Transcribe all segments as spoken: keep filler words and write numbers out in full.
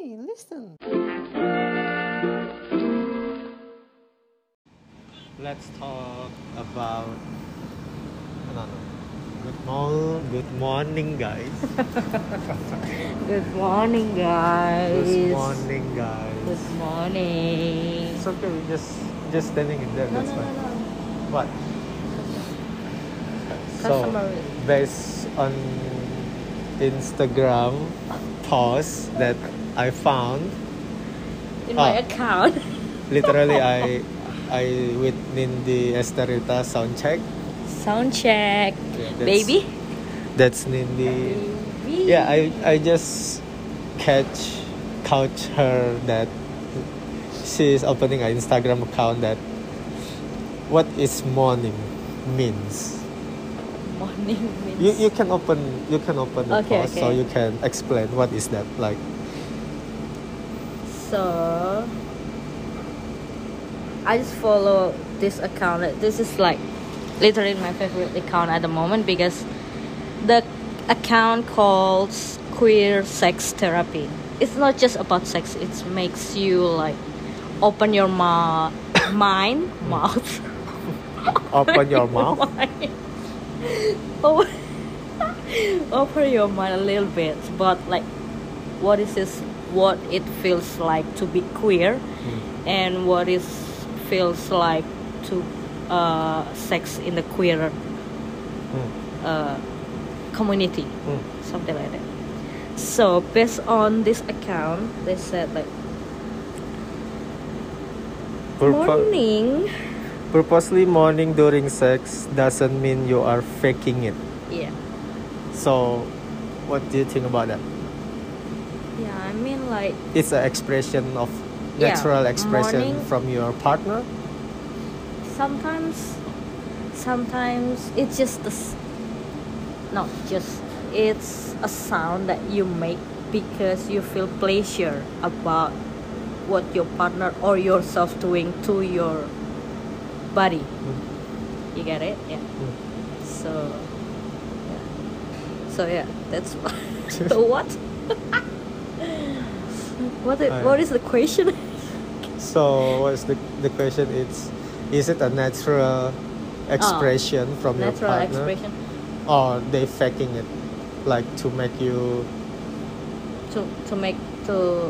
Hey, listen. Let's talk about. No, no. Good morning, good morning, guys. Good morning, guys. Good morning, guys. Good morning. It's okay. We just just standing in there. No, That's no, no, fine. no. What? Customary. So, based on Instagram post that I found, In my Ah. account. literally I I with Nindi Esterita sound check. Sound check. Yeah, that's- Baby. That's Nindi. Baby. Yeah, I I just catch couch her that she is opening an Instagram account that what is morning means. Morning means. You you can open you can open the Okay, post so okay. you can explain what is that like. So, I just follow this account. This is like literally my favorite account at the moment because the account calls queer sex therapy. It's not just about sex. It makes you like open your ma- mind, mouth. Open your mouth. Mind. open, open your mind a little bit, but like, what is this? What it feels like to be queer, Mm. and what is feels like to uh, sex in the queer Mm. uh, community, Mm. something like that. So based on this account, they said like Purpo- morning. Purposely morning during sex doesn't mean you are faking it. Yeah, So, what do you think about that? yeah. I mean like It's an expression of Yeah, natural expression morning. from your partner. sometimes, sometimes it's just the s- not just it's a sound that you make because you feel pleasure about what your partner or yourself doing to your body. Mm. You get it? Yeah. Mm. So, yeah. So yeah, that's what. So what? what? Is, what is the question? So, what's the the question? It's is it a natural expression from your Natural partner, expression or they faking it, like to make you to to make to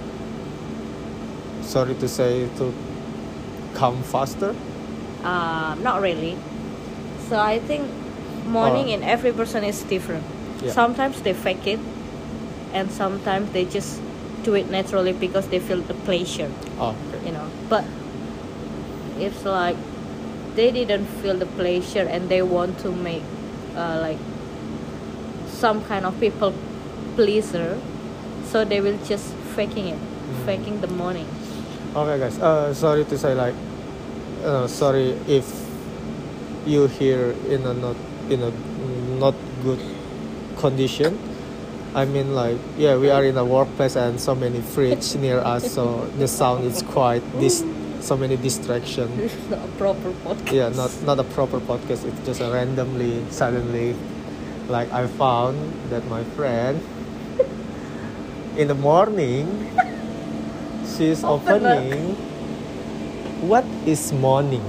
sorry to say to come faster? uh not really. So I think morning Oh. in every person is different. Yeah. Sometimes they fake it, and sometimes they just do it naturally because they feel the pleasure. Oh, okay. You know, but it's like they didn't feel the pleasure and they want to make uh, like some kind of people pleaser, so they will just faking it, Mm. faking the morning. Okay, guys. Uh, sorry to say, like, uh, sorry if you hear in a not in a not good condition. I mean, like, yeah, we are in a workplace and so many fridge near us, so the sound is quite dis so many distraction. This is not a proper podcast. Yeah, not not a proper podcast. It's just a randomly, suddenly, like I found that my friend in the morning she's Open up. opening. What is morning?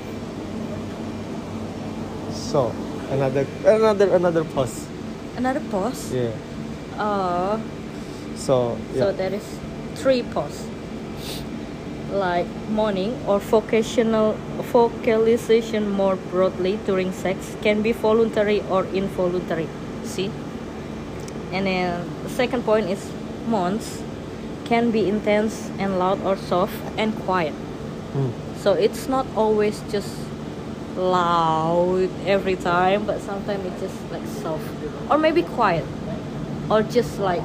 So another another another post. Another pause. Yeah. Uh, So so yeah. there is three pause. Like morning or vocational vocalization more broadly during sex can be voluntary or involuntary. See? And then the second point is months can be intense and loud or soft and quiet. Mm. So it's not always just loud every time, but sometimes it's just like soft or maybe quiet or just like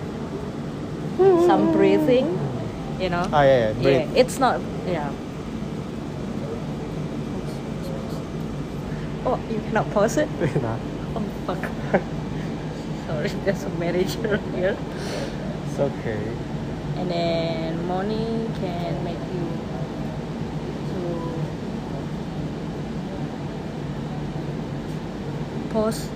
some breathing, you know. Ah yeah, yeah. Breathe. Yeah, it's not. Yeah. Oh, you cannot pause it. Nah, Oh fuck. Sorry, there's a manager here. it's okay. And then morning can make you to pause.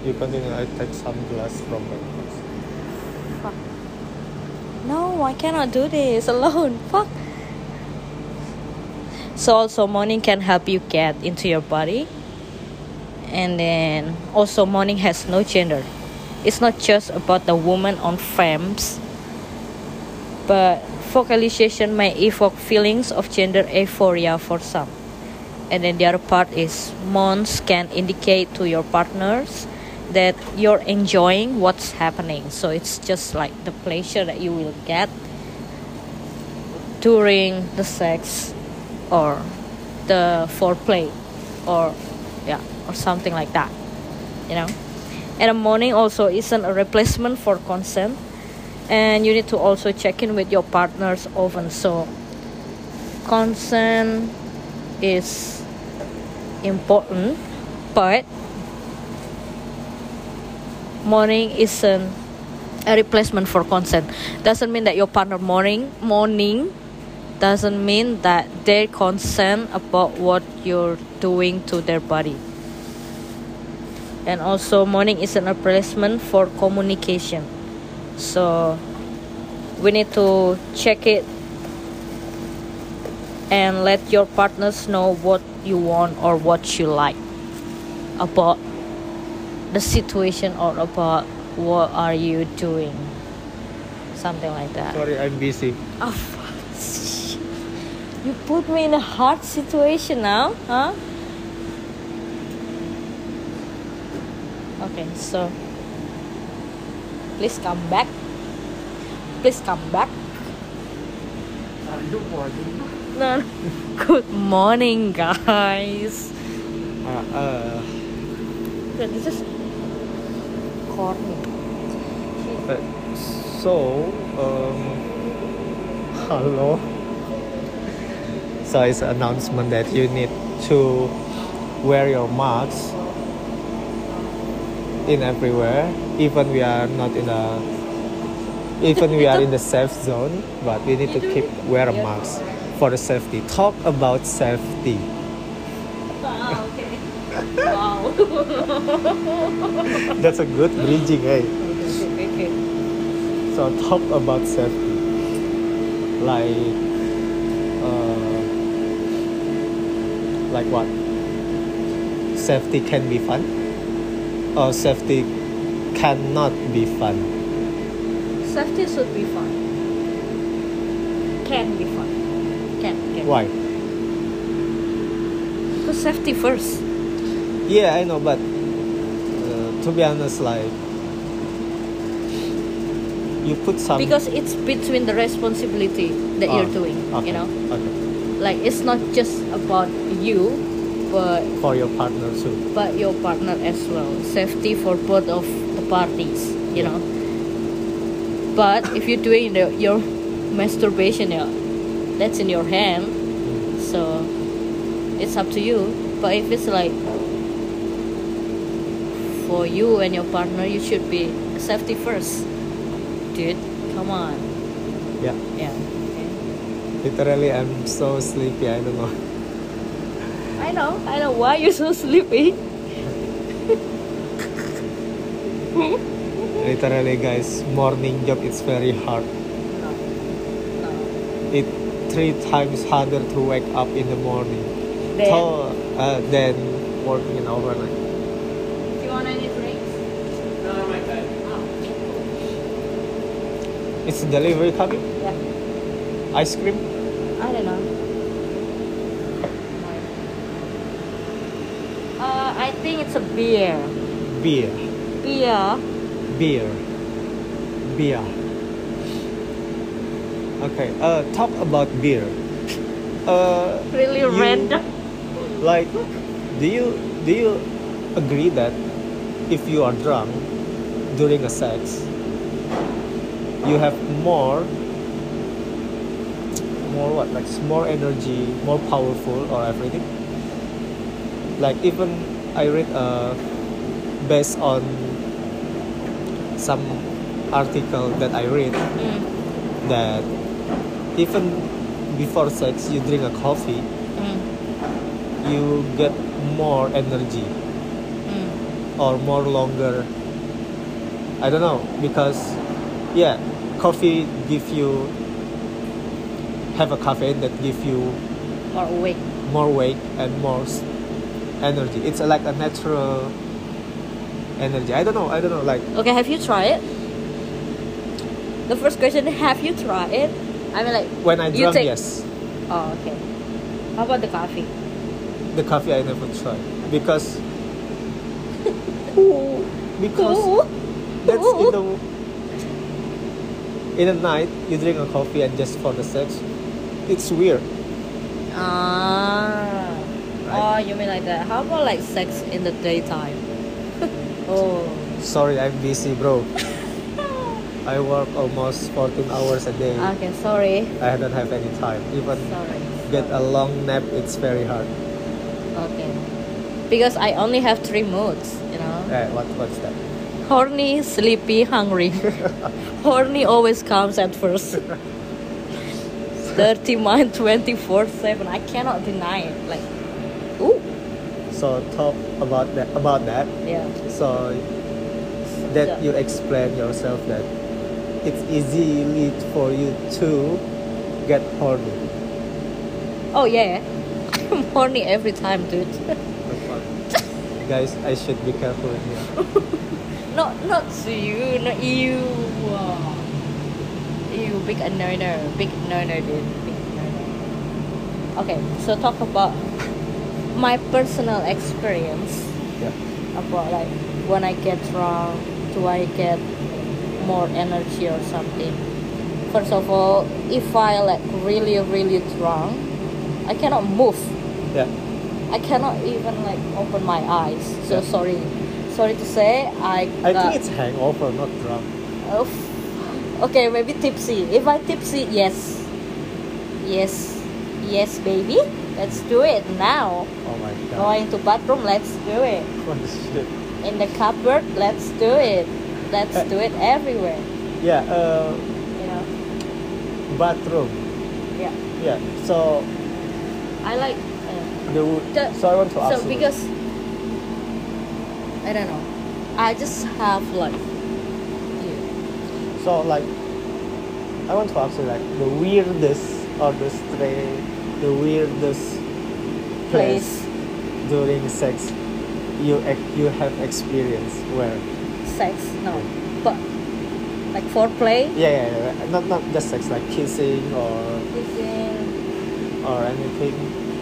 You continue. I take some glass from my house. Fuck. No, I cannot do this alone. Fuck. So also morning can help you get into your body. And then also morning has no gender. It's not just about the woman on femmes, but focalization may evoke feelings of gender euphoria for some. And then the other part is mons can indicate to your partners that you're enjoying what's happening. So it's just like the pleasure that you will get during the sex or the foreplay or yeah or something like that, you know. And the morning also isn't a replacement for consent, and you need to also check in with your partners often. So consent is important, but morning isn't a replacement for consent. Doesn't mean that your partner morning morning doesn't mean that they consent about what you're doing to their body. And also morning isn't a replacement for communication. So we need to check it and let your partners know what you want or what you like about the situation or about what are you doing, something like that. Sorry, I'm busy. Oh, fuck. You put me in a hard situation now, huh? Okay, so please come back. Please come back. Good morning. No, no. Good morning, guys. Uh, uh, This is corny. uh, so, um, hello. So it's an announcement that you need to wear your mask in everywhere, even we are not in a, even we are in the safe zone, but we need to keep wear a mask for the safety. Talk about safety. Wow, okay. Wow. That's a good bridging, eh? Okay, okay. So talk about safety, like, uh, like what? Safety can be fun, or safety cannot be fun. Safety should be fun. Can be fun. Can. can. Why? Because safety first. Yeah, I know, but uh, to be honest, like, you put some. Because it's between the responsibility that Oh, you're doing, okay, you know. Okay. Like it's not just about you, but For your partner too. but your partner as well. Safety for both of the parties, you Yeah. know. But if you're doing the, your masturbation, yeah, that's in your hand, so it's up to you. But if it's like for you and your partner, you should be safety first, dude. Come on, Yeah. yeah. Okay. Literally, I'm so sleepy. I don't know. I know, I know why you're so sleepy. Literally, guys, morning job is very hard. No, no. It three times harder to wake up in the morning. Then, So, uh, than working in overnight. do you want any drinks? No, my bad. Oh. It's delivery coming. Yeah, Ice cream. I don't know. Uh, I think it's a beer. Beer. Beer. Beer. Beer. Okay. Uh, talk about beer. Uh, Really you- random. Like, do you do you agree that if you are drunk during a sex, you have more more what like more energy, more powerful, or everything? Like even I read uh based on some article that I read Mm, that even before sex you drink a coffee, mm, you get more energy. mm. or more longer. I don't know, because yeah, coffee give you have a caffeine that give you Or awake. more weight and more s- energy. It's like a natural energy. I don't know. I don't know. Like Okay, have you tried it? The first question, have you tried it? I mean, like when I you drum, take- yes. Oh, okay. How about the coffee? The coffee I never tried because because Ooh. that's in the in the night you drink a coffee and just for the sex. It's weird. Ah. Right. Oh, you mean like that? How about like sex in the daytime? Oh. Sorry, I'm busy, bro. I work almost fourteen hours a day. Okay, sorry. I don't have any time. Even Sorry. get a long nap, it's very hard. Okay. Because I only have three moods, you know. Eh, what what's that? Horny, sleepy, hungry. Horny always comes at first. Dirty mind twenty-four seven. I cannot deny it. Like, ooh. So talk about that about that. Yeah. So that you explain yourself that it's easy for you to get horny. Oh yeah. I'm horny every time, dude. Guys, I should be careful here. not not to you, not you. Wow. You big annoyer, big annoyer, dude. Big annoyer. Okay, so talk about my personal experience Yeah. about like when I get drunk, do I get more energy or something? First of all, if I like really really drunk, I cannot move. Yeah. I cannot even like open my eyes. So Yeah. sorry, sorry to say, I. I got- think it's hangover, not drunk. Oh, f- okay, maybe tipsy. If I tipsy, yes, yes, yes, baby. Let's do it now. Oh my god. Going to bathroom, let's do it. What the shit? In the cupboard, let's do it. Let's do it everywhere. Yeah. Uh, You know. bathroom. Yeah. Yeah. So I like. Uh, the, the so I want to ask so you. because I don't know. I just have like. Yeah. So like, I want to ask you like the weirdest or the stray, the weirdest place, Place. during sex you ex- you have experienced where? Sex, no, but like foreplay. Yeah, yeah, yeah. Not not just sex, like kissing or Kissing. or anything.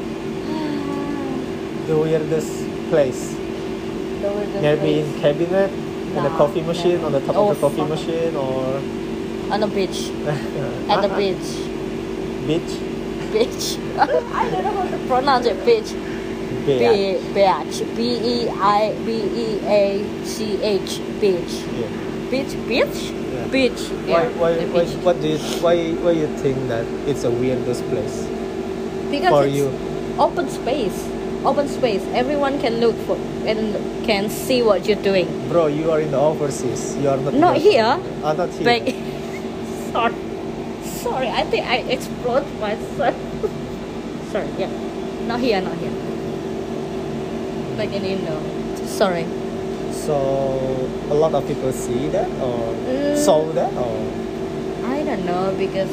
The weirdest place. The weirdest Maybe place. in cabinet, in a No, coffee machine, never. on the top Oh, of the coffee fuck. machine, or On the beach. At the beach. beach. Beach. I don't know how to pronounce it. Beach. Beach. B beach. B E I B E A C H. Beach. Yeah. Beach. Beach. Yeah. Beach. Why, Yeah, why, the why, beach. what do you, why, why you think that it's a weirdest place Because for it's you? open space. Open space. Everyone can look for and can see what you're doing. Bro, you are in the overseas. You are not. Not in the- here. Ah, not here. But sorry, sorry. I think I explode myself. Sorry. Yeah. Not here. Not here. Like in Indo. Sorry. So a lot of people see that or Mm. saw that or. I don't know because.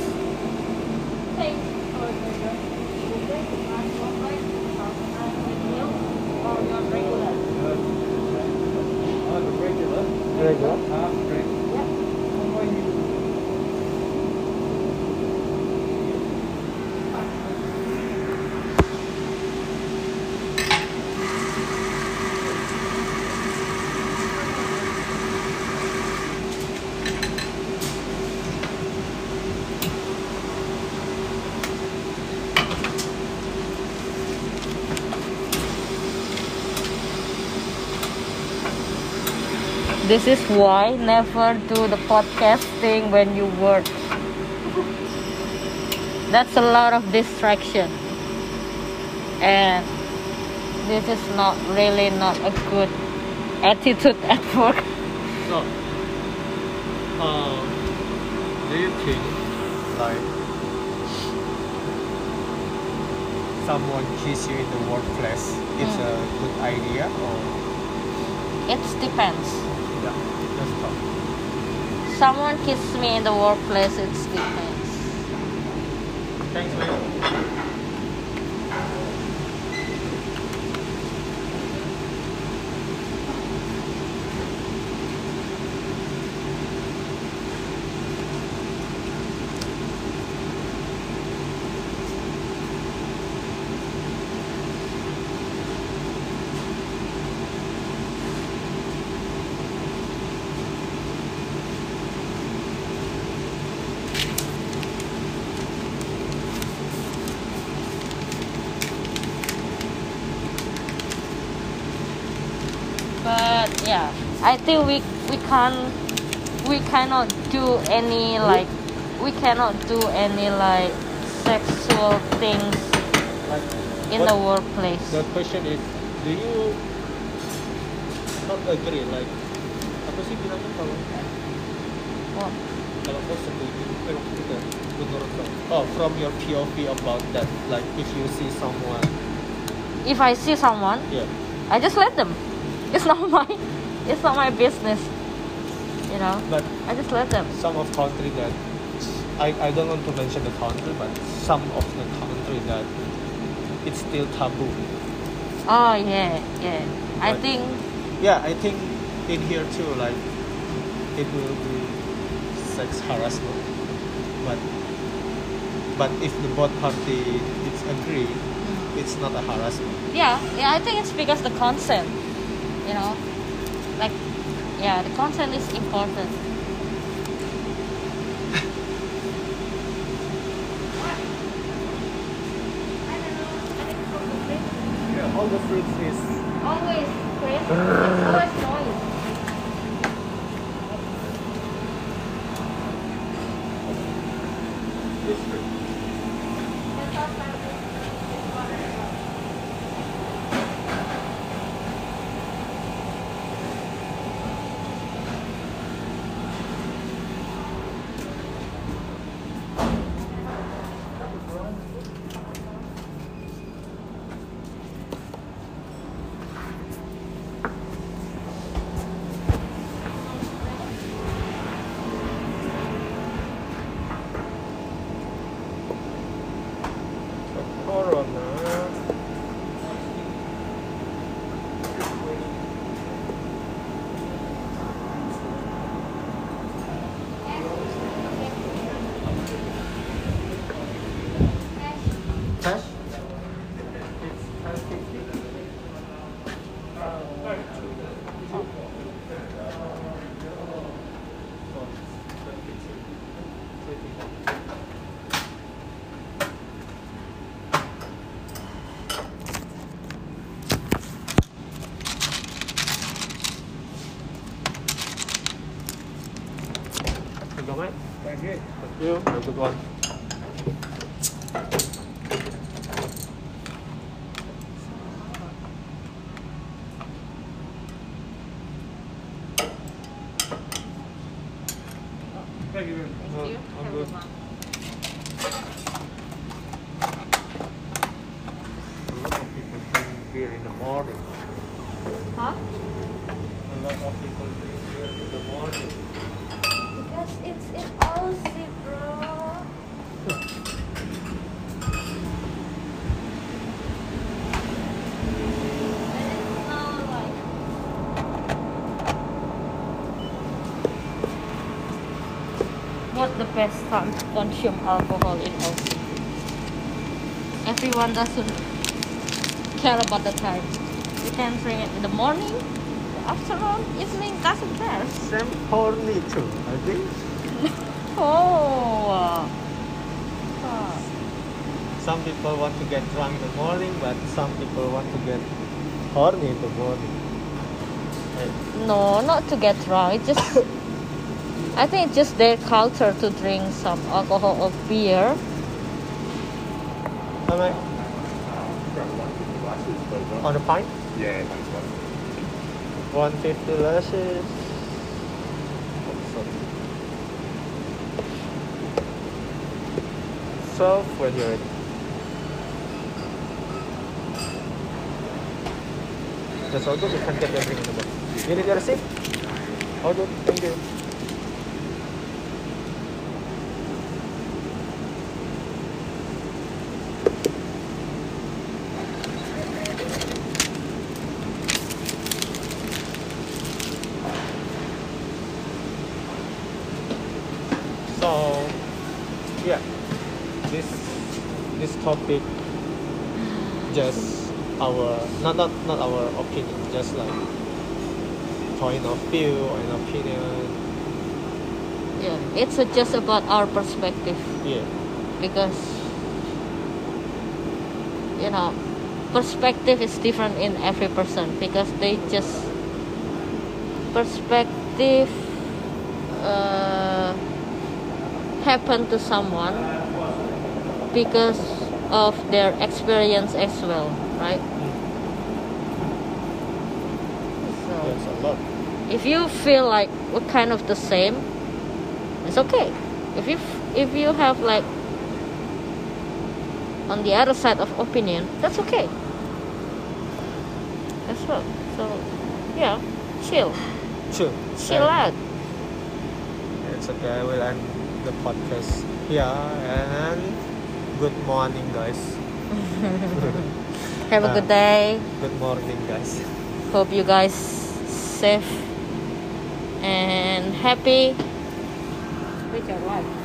Regular. This is why never do the podcasting when you work. That's a lot of distraction. And this is not really not a good attitude at work. So, uh, do you think like someone kiss you in the workplace it's Mm. a good idea or It depends. Yeah, let's talk. Someone kisses me in the workplace. It depends. Thanks, man. But yeah, I think we we can't we cannot do any like we cannot do any like sexual things Like, in what- the workplace. The question is, do you not agree? Like, apa sih bilangnya kalau Well, kalau kau setuju, eh maksudnya menurut kau? Oh, from your P O V about that, like if you see someone, if I see someone, yeah, I just let them. It's not my it's not my business. You know, but I just let them. some of country that I, I don't want to mention the country, but some of the country that it's still taboo. Oh yeah, yeah. I But- think Yeah, I think in here too, like it will be sex harassment, but but if the both party it's agree, it's not a harassment. yeah, yeah. I think it's because the consent. You know, like yeah, the consent is important. Yeah, all the fruits is Always, Chris. It's always noise. this fruit. Corona. Cash? It's ten fifty. You go, mate? Thank you. Thank you. Have a good one. Thank you. Thank you. I'm Have a good. good one. A lot of people drink beer in the morning. Huh? A lot of people drink beer in the morning. Because it's in Aussie, bro. And it's not like what's the best time to consume alcohol in Aussie? Everyone doesn't care about the time. You can drink it in the morning, afternoon, evening, doesn't care. Same horny too, I think. Oh. Huh. Some people want to get drunk in the morning, but some people want to get horny in the morning. Right. No, not to get drunk. It's just, I think it's just their culture to drink some alcohol or beer. How much? On the pint? Yeah, that's one. one fifty lashes. So when you're ready. That's all good. You can get everything in the box. You need your receipt? Oh, good. Thank you. So, yeah, this this topic just our not not not our opinion, just like point of view and opinion. Yeah, it's uh, just about our perspective Yeah, because you know perspective is different in every person because they just perspective uh, happen to someone because of their experience as well, right? So there's a lot. if you feel like we're kind of the same, it's okay. If you if you have like on the other side of opinion, that's okay as well. So yeah, chill, Sure. chill out. It's okay. I will end the podcast here and good morning, guys. Have a Uh, good day. Good morning, guys. Hope you guys safe and happy with your life.